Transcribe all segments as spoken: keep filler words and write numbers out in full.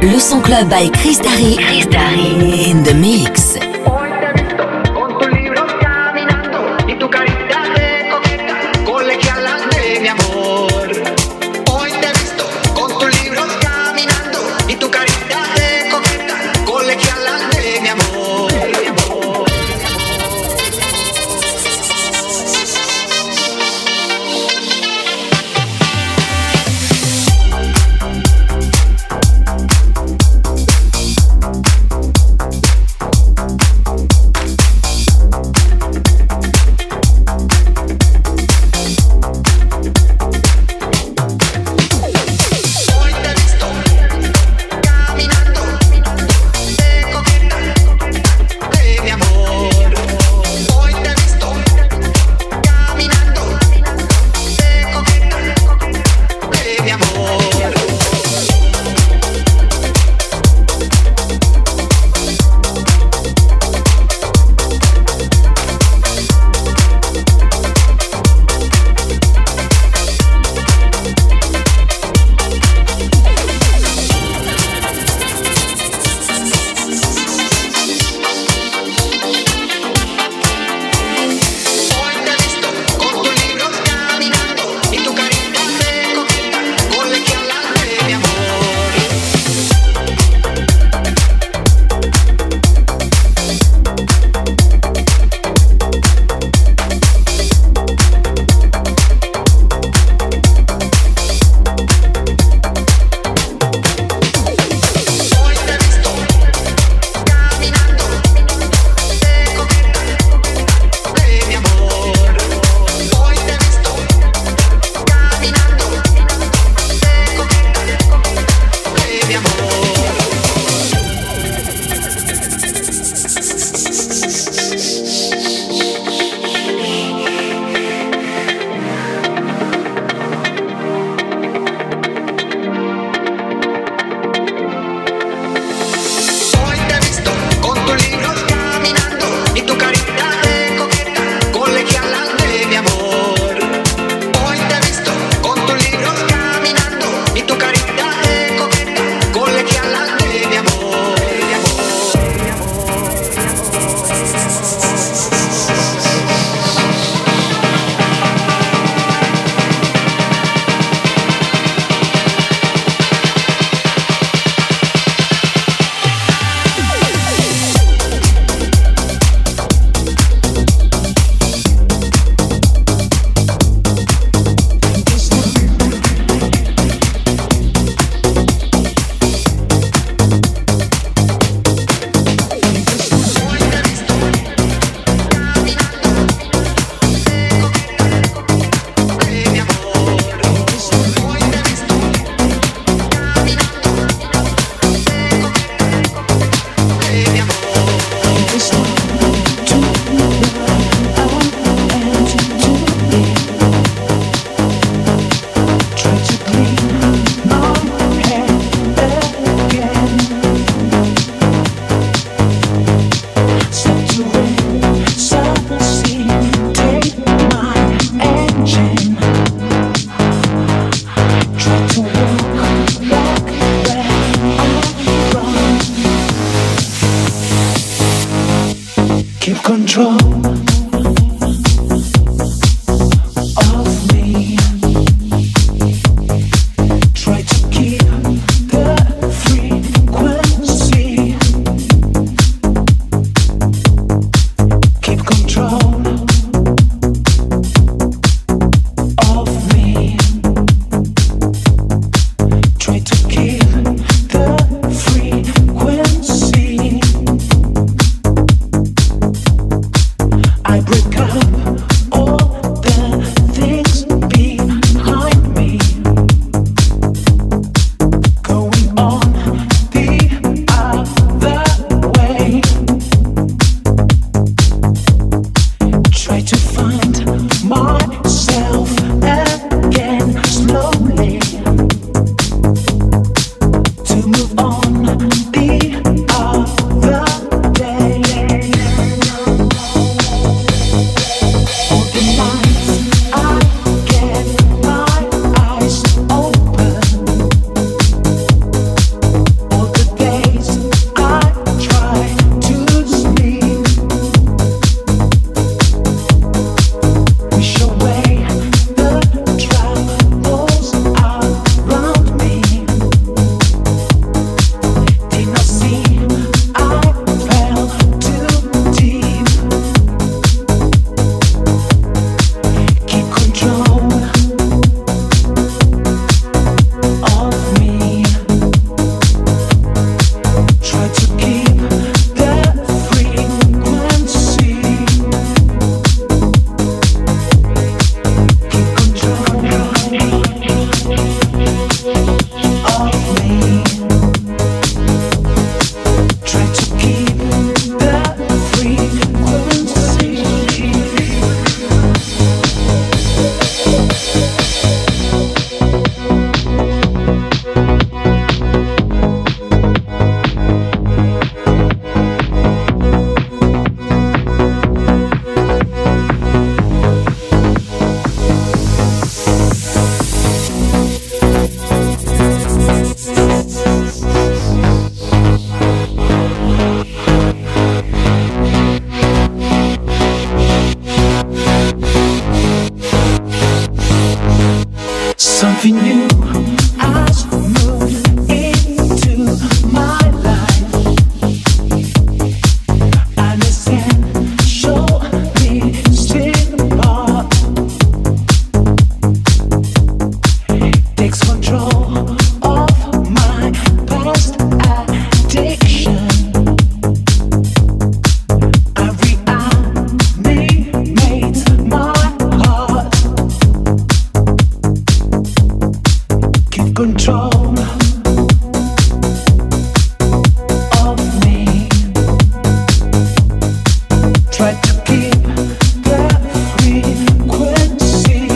Le Son Club by Chris Darry. Chris Darry in the mix. Hoy te he visto con tus libros caminando y tu carita de coqueta, colegiala de mi amor. Hoy te he visto con tus libros caminando y tu carita de coqueta, colegiala de mi amor. Mi amor. Something new has moved into my life. Understand, show me still apart. Takes control of my past addiction. I reanimate my heart. Keep control of me. Try to keep the frequency.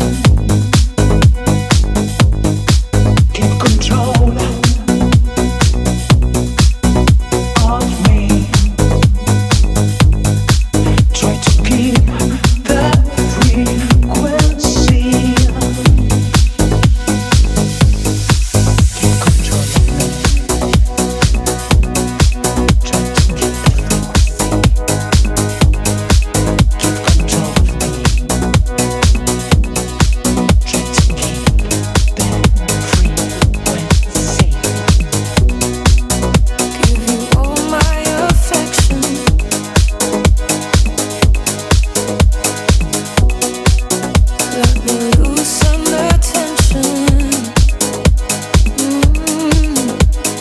Keep control of me. Try to keep the frequency. Keep control of me. Try to keep the frequency. Keep control of me. Try to keep the frequency. Give you all my affection. Let me loosen the tension. Mm.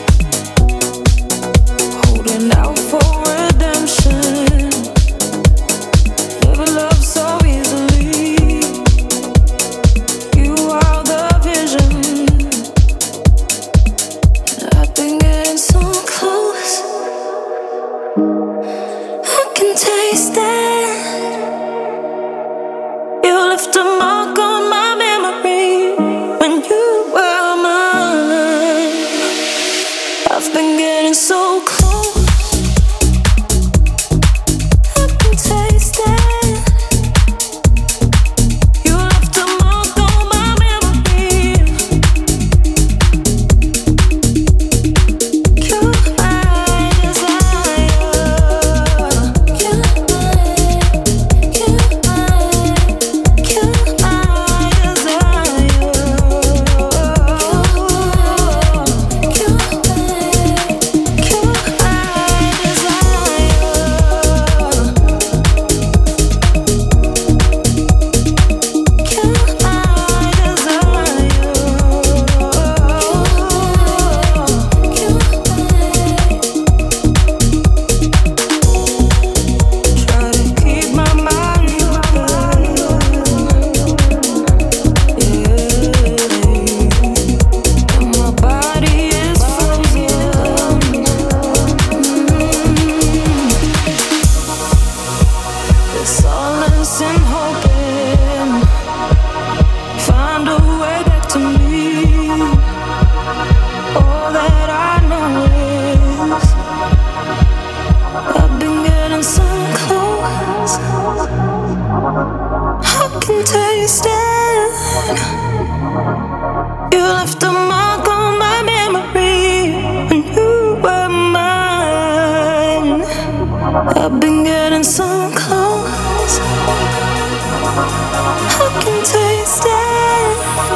Holding out for redemption. Never loved so easily. You are the vision. I've been getting so close. I can taste it. You left a mark on my memory when you were mine. I've been getting so close. I can taste it. You left a mark on my memory. You're my desire. You're my, you're my, you're my desire. You're my, you're I've been getting so close. I can taste it.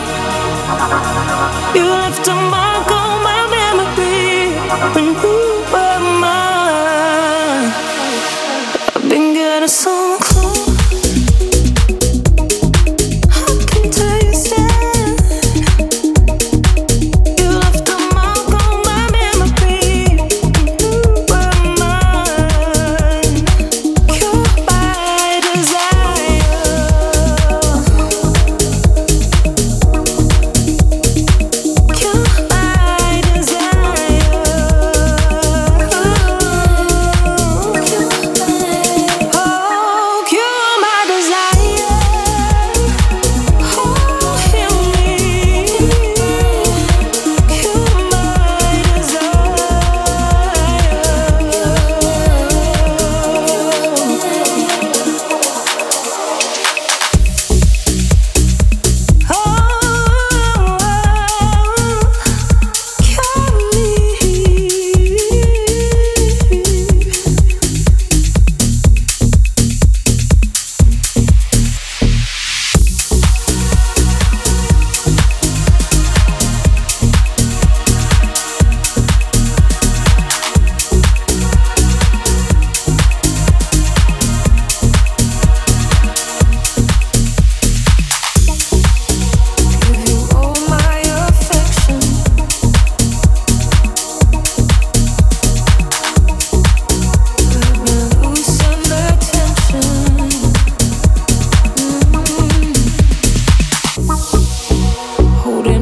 You left a mark on my memory when you were mine. I've been getting so close. Oh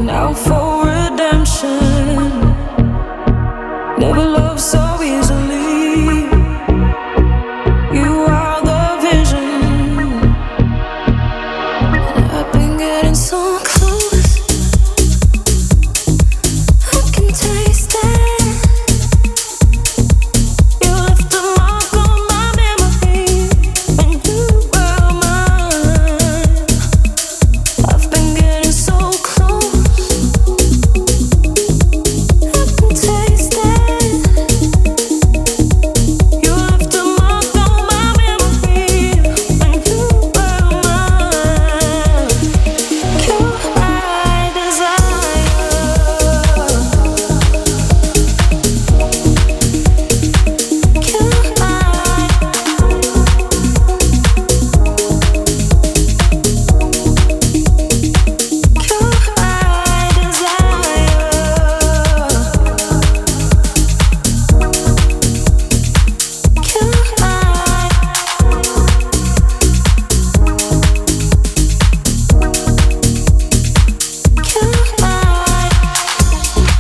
out for redemption. Never loved so easily. You are the vision. And I've been getting so close. I can taste it. You left a mark on my memory when you were mine. I've been getting so close. I can taste it. You left a mark on my memory when you were mine. Cure my desire. Cure my, cure my desire. Cure my, cure my.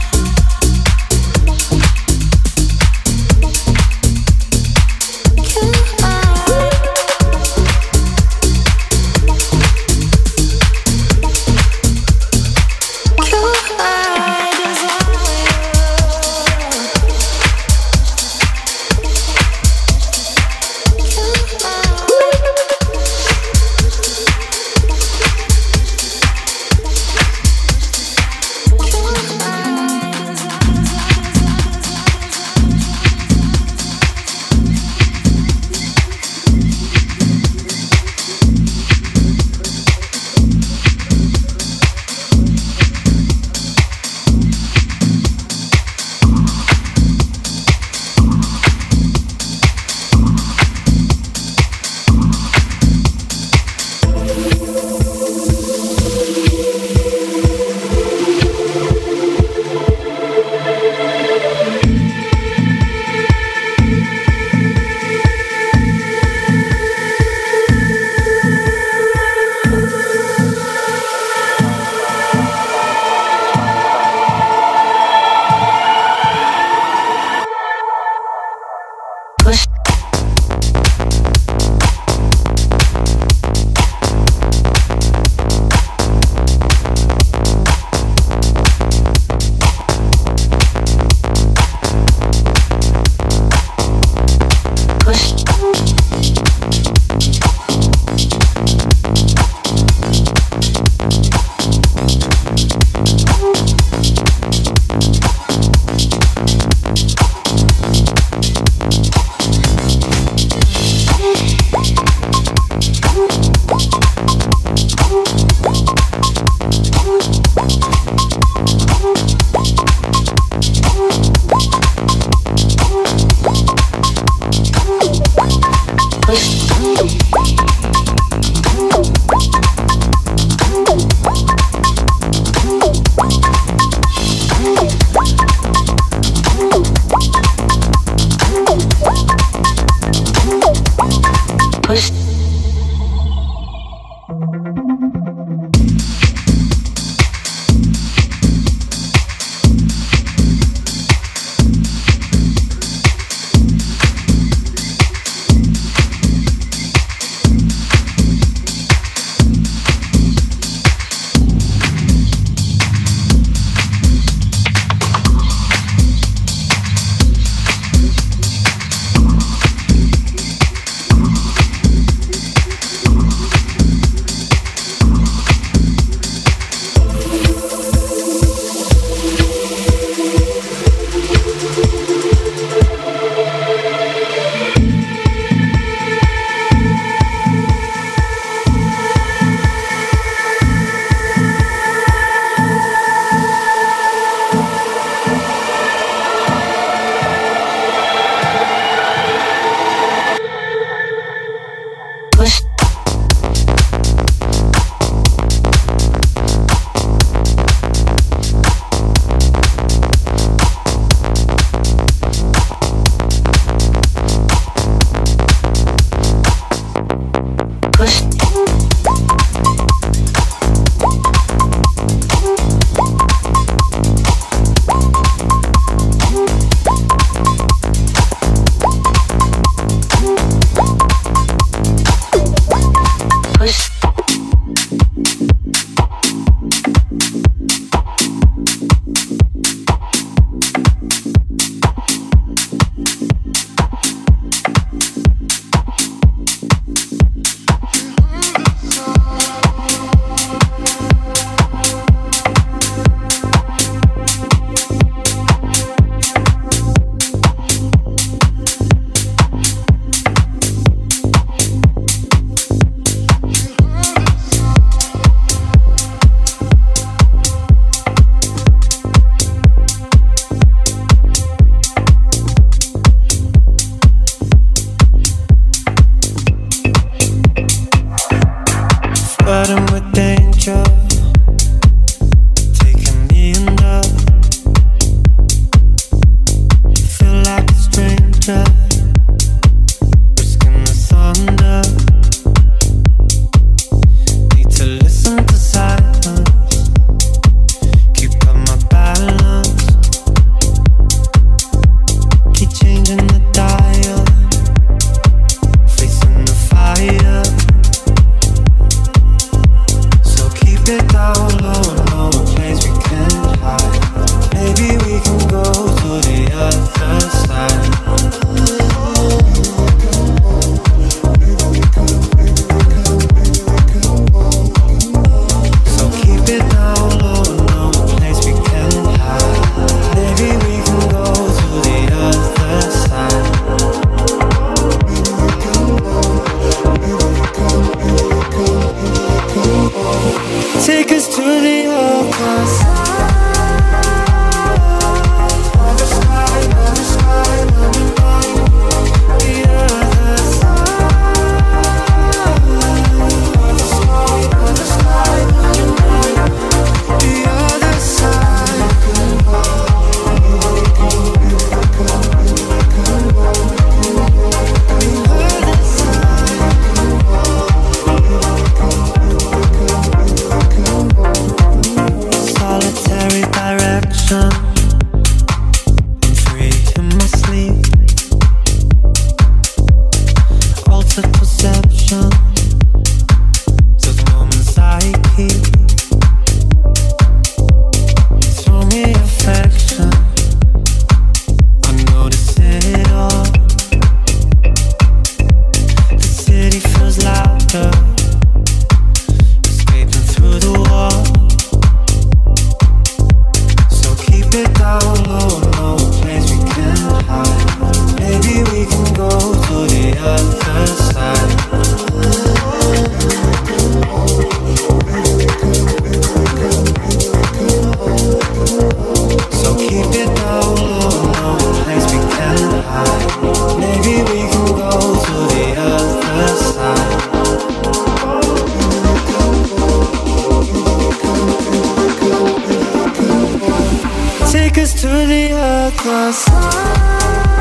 take us to the other side.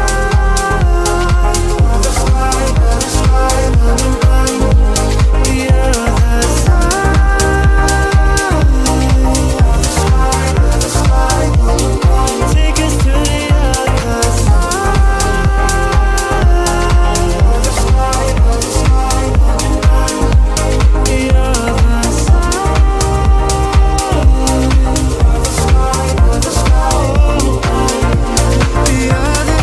Other side, other side, other side, the other side. Other side, other side, take us to the other side. Other side, other side, the other side. Other side, other side, the other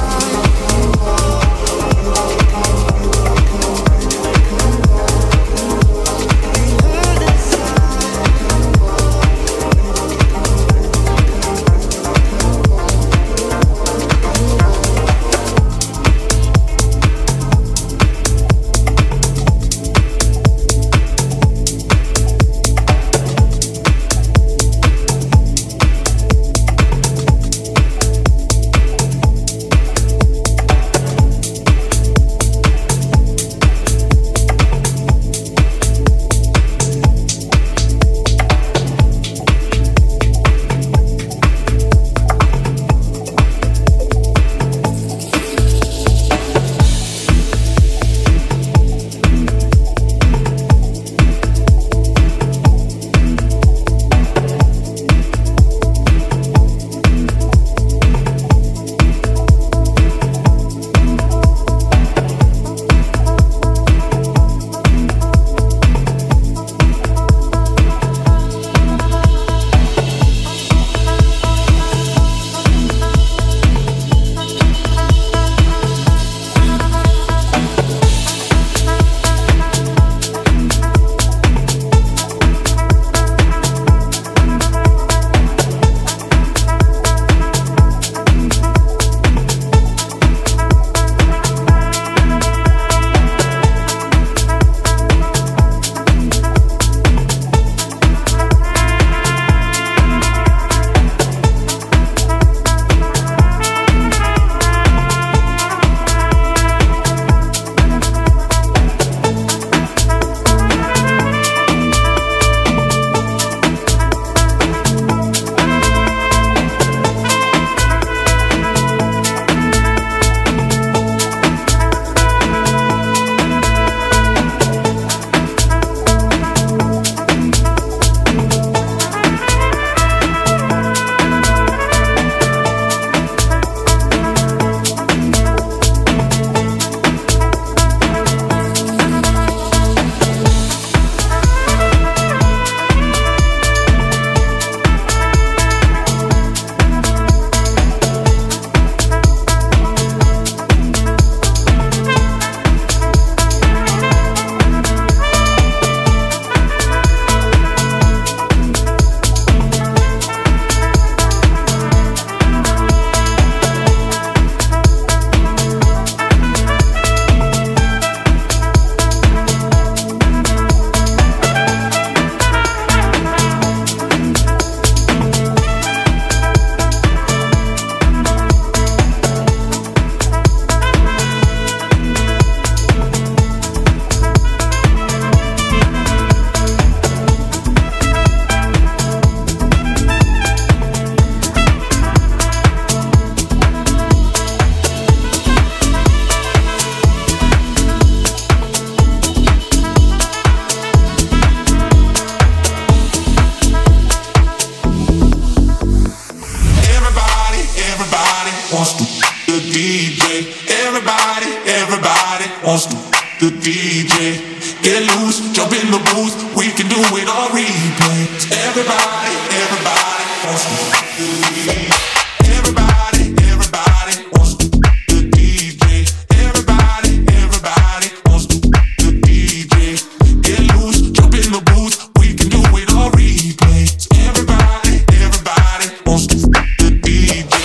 the D J. Get loose, jump in the booth, we can do it on replay. Everybody, everybody wants to do the D J. Everybody, everybody wants to do the D J. Everybody, everybody wants to do the D J. Get loose, jump in the booth, we can do it on replay. Everybody, everybody wants to do the D J.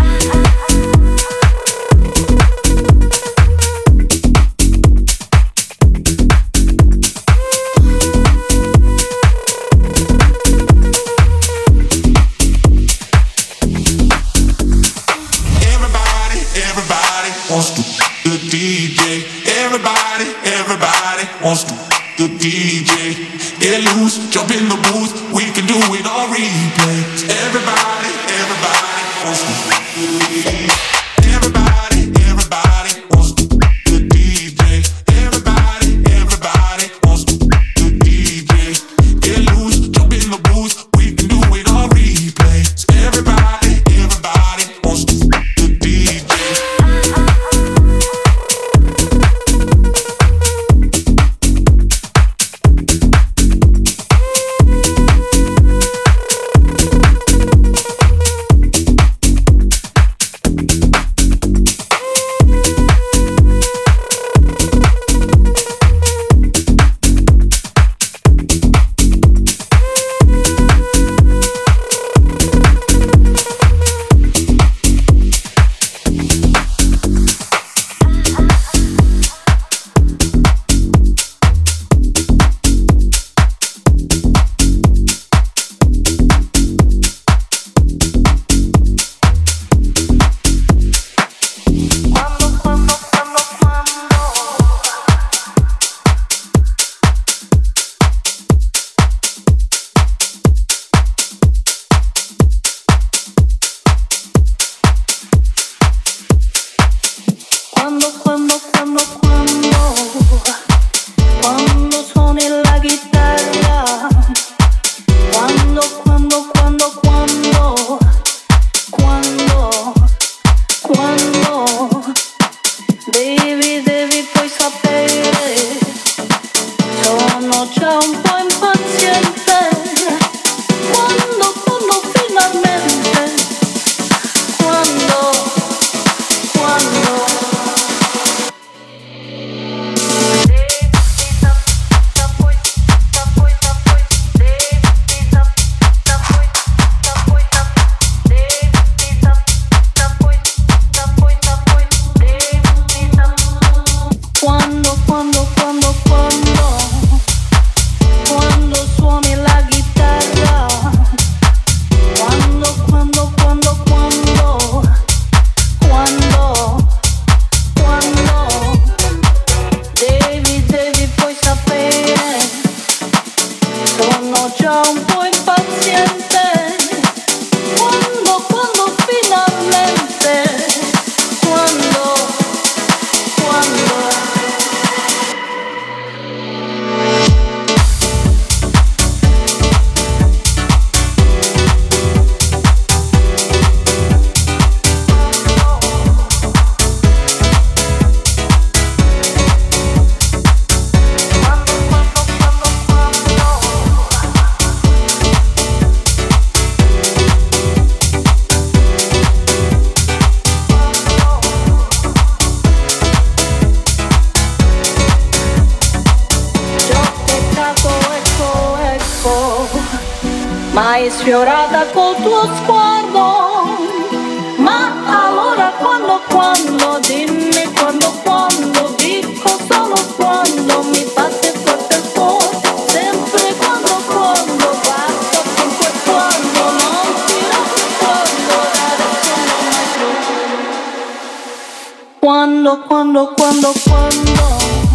Wants to the D J. Everybody, everybody wants to the D J. Get loose, jump in the booth, we can do it on replay. Everybody, everybody. sfiorata col tuo sguardo. Ma allora quando, quando, dimmi quando, quando, dico solo quando mi batte forte il cuore, sempre quando, quando, basta sempre quando, non ti nascondo, adesso non mai più. Quando, quando, quando, quando.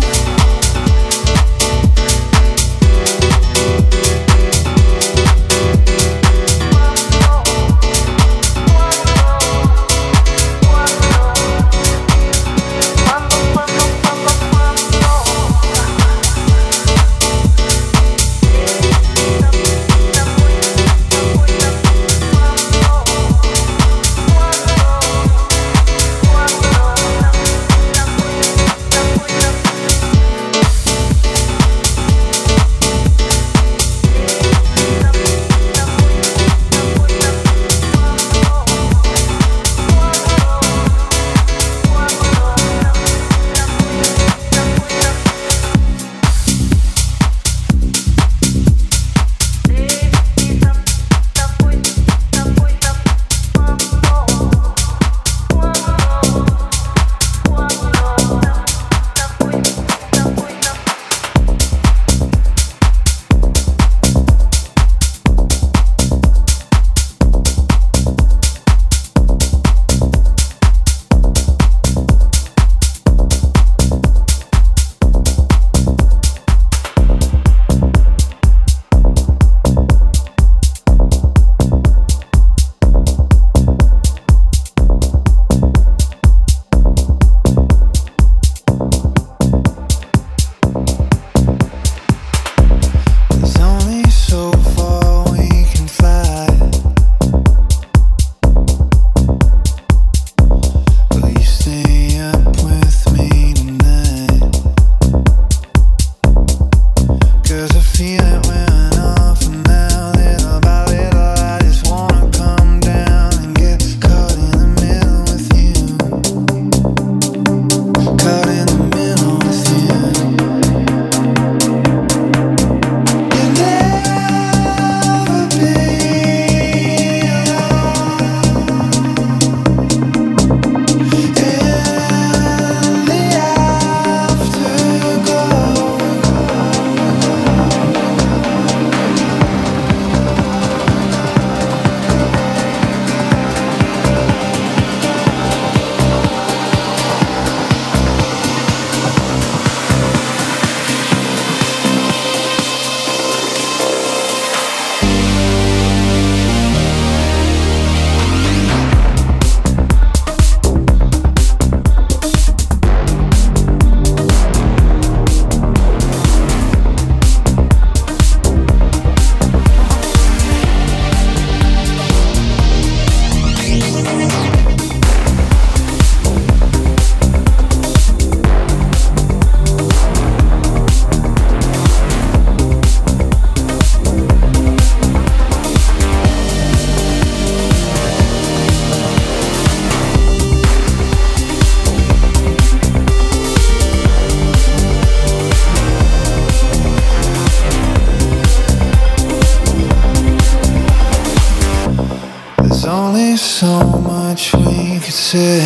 So much we could say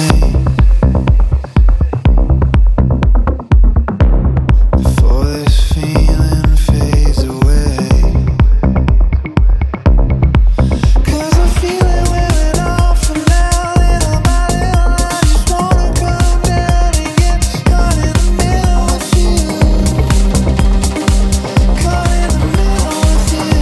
before this feeling fades away. 'Cause I feel it wearing off and now, little by little, I just wanna come down and get caught in the middle with you. Caught in the middle with you.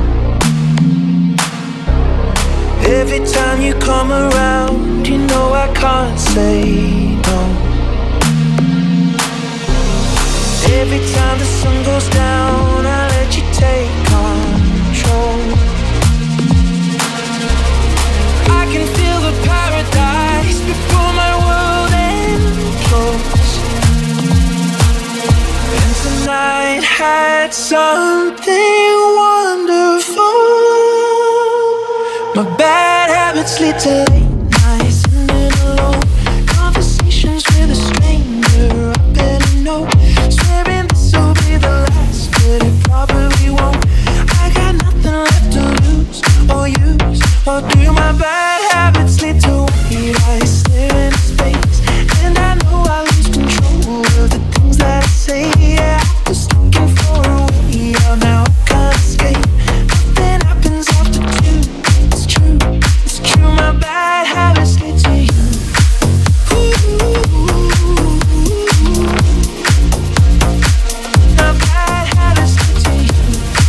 Every time you come around, you know I can't say no. Every time the sun goes down, I let you take control. I can feel the paradise before my world implodes. And tonight had something wonderful. My bad habits lead to late nights sitting alone. Conversations with a stranger, I better know. Swearing this will be the last, but it probably won't. I got nothing left to lose or use or do. My bad habits lead to white eyes staring into space, and I know I lose control of the things that I say. Yeah, I was looking for a way out, now I can't escape. Nothing happens after two. It's true, it's true. My bad habits lead to you. My bad habits lead to you.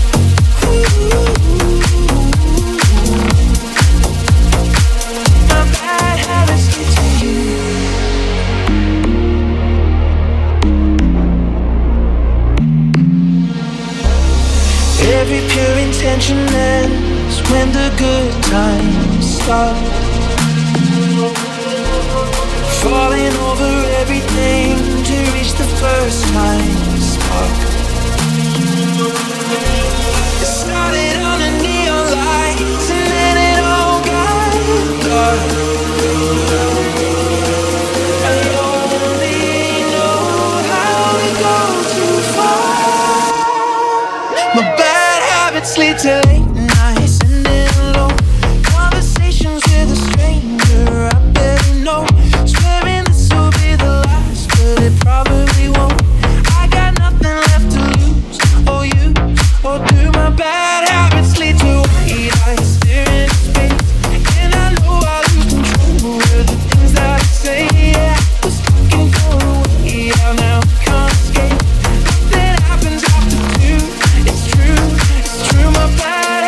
My bad habits lead to you. Every pure intention ends when the good times start. Falling over everything to reach the first time spark. It started on a neon light, and then it all got dark. I only know how to go too far. My bad habits lead to late nights sitting alone. Conversations with a stranger, I better know. Swearing this will be the last, but it probably won't. I got nothing left to lose or use or do. My bad habits lead to white eyes staring into space, and I know I lose control of the things that I say. Yeah, I was looking for a way out, now I can't escape. Nothing happens after two. It's true, it's true. My bad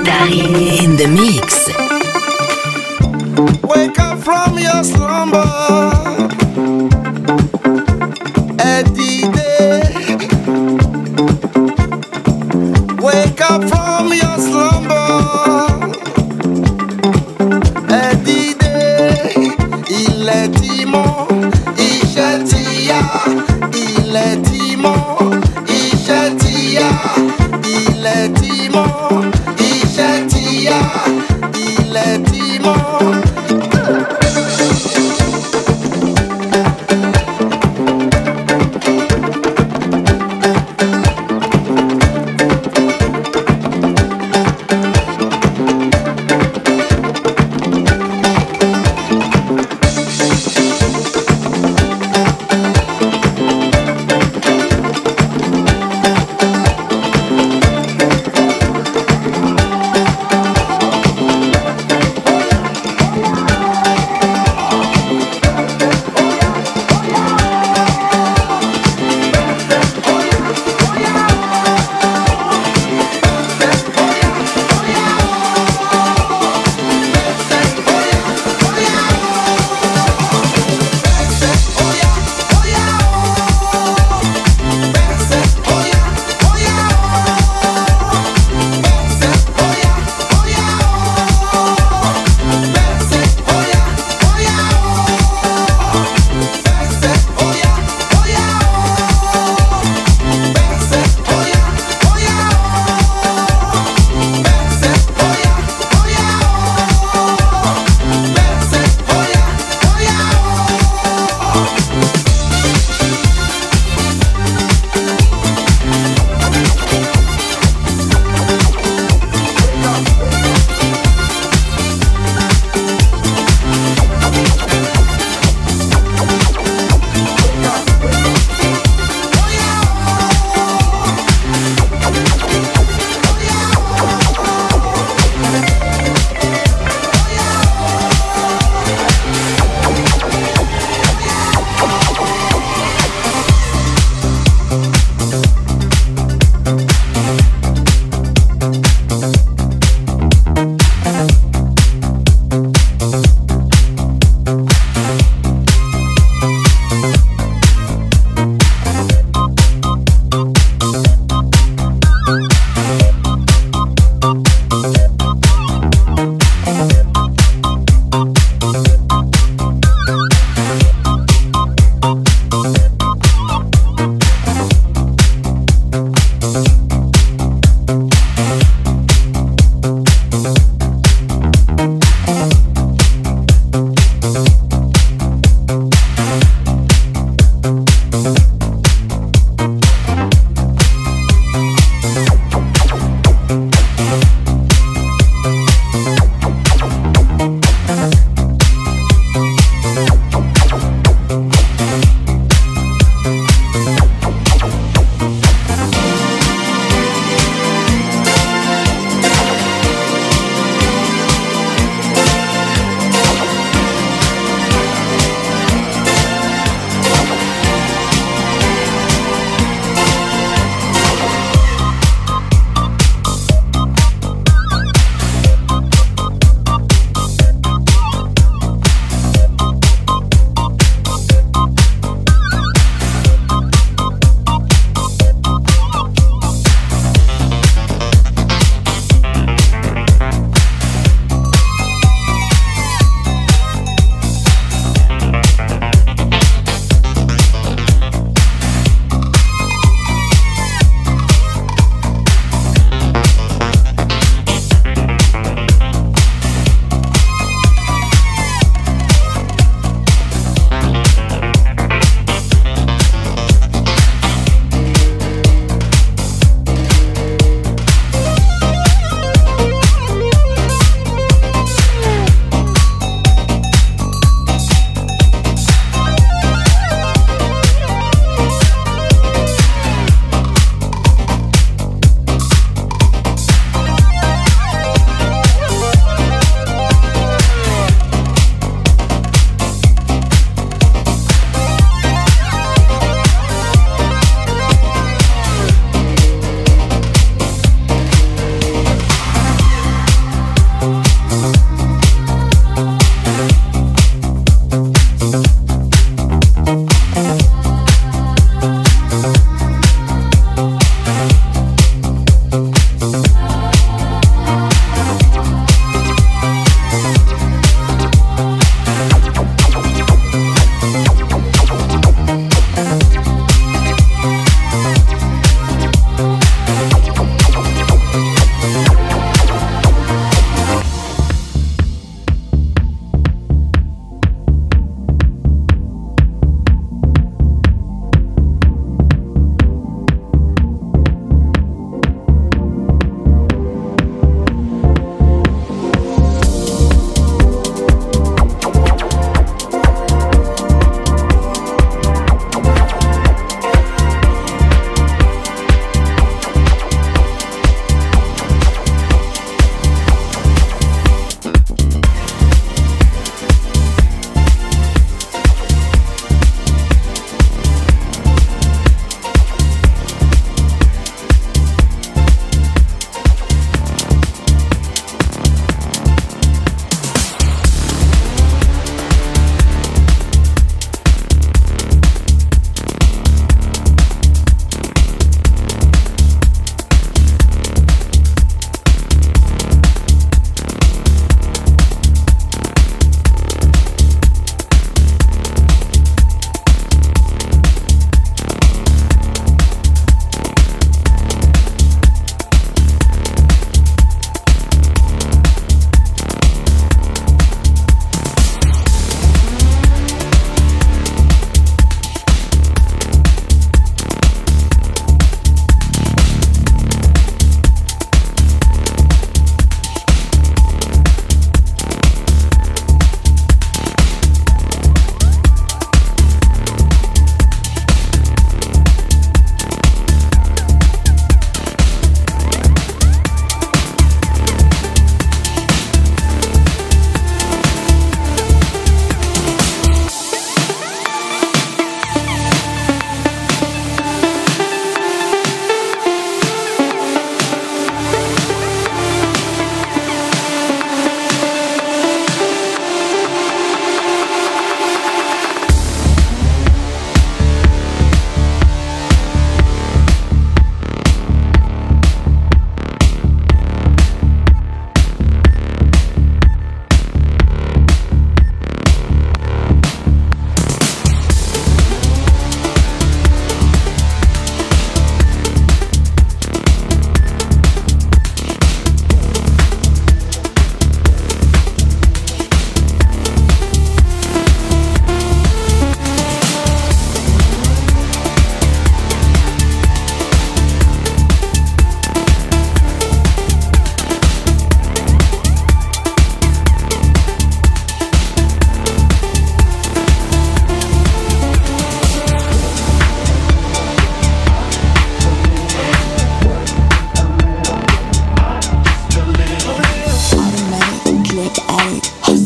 Dari in the mix. Wake up from your slumber, Eddie day. Wake up from your slumber, Eddie day. Il est dimanche, iṣẹ́ ti yá. Il est dimanche, iṣẹ́ ti yá. Il est dimanche, iṣẹ́ ti yá. Il est dimanche.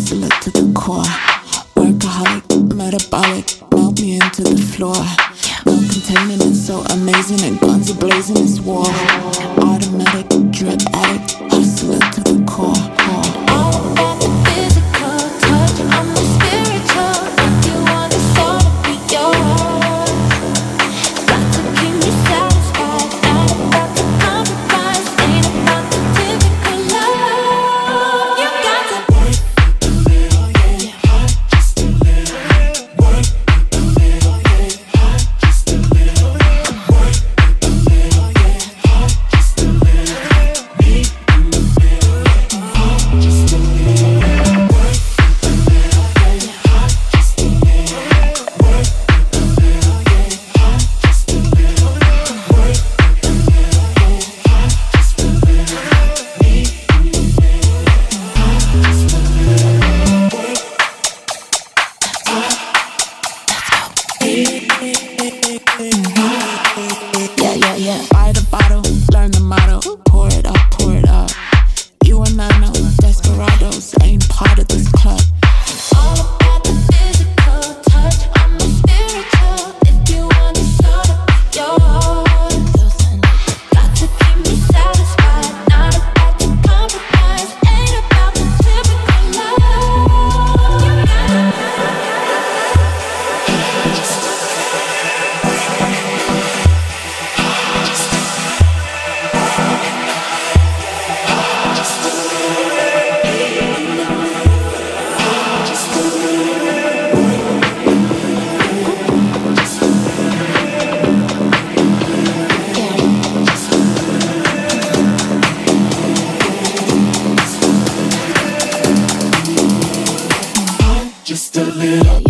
hustler to the core. Workaholic, metabolic, melt me into the floor. No containing, it's so amazing, and guns are blazing, it's war. Automatic, drug addict, hustler to the core. All about the physical touch, I'm the spiritual. If you want the soul to be yours, got to keep me satisfied. Not about to compromise, ain't about the typical love. You got to work a little, yeah, hot just a little. Work a little, yeah, hot just a little. Work a little, yeah, hot just a little. Me in the middle, yeah, hot just a little. Work a little, yeah, hot just a little. Work a little, yeah, hot just a little. Work a little, yeah, hot just a little. Me in the middle, yeah, hot just a little. Work. Yeah, yeah, yeah. Buy the bottle, learn the motto. Pour it up, pour it up. You and I know desperados ain't part of this club. All about the physical touch, I'm the spiritual. If you want the soul to be yours, got to keep me satisfied. Not about to compromise, ain't about the typical love. You got Just a little.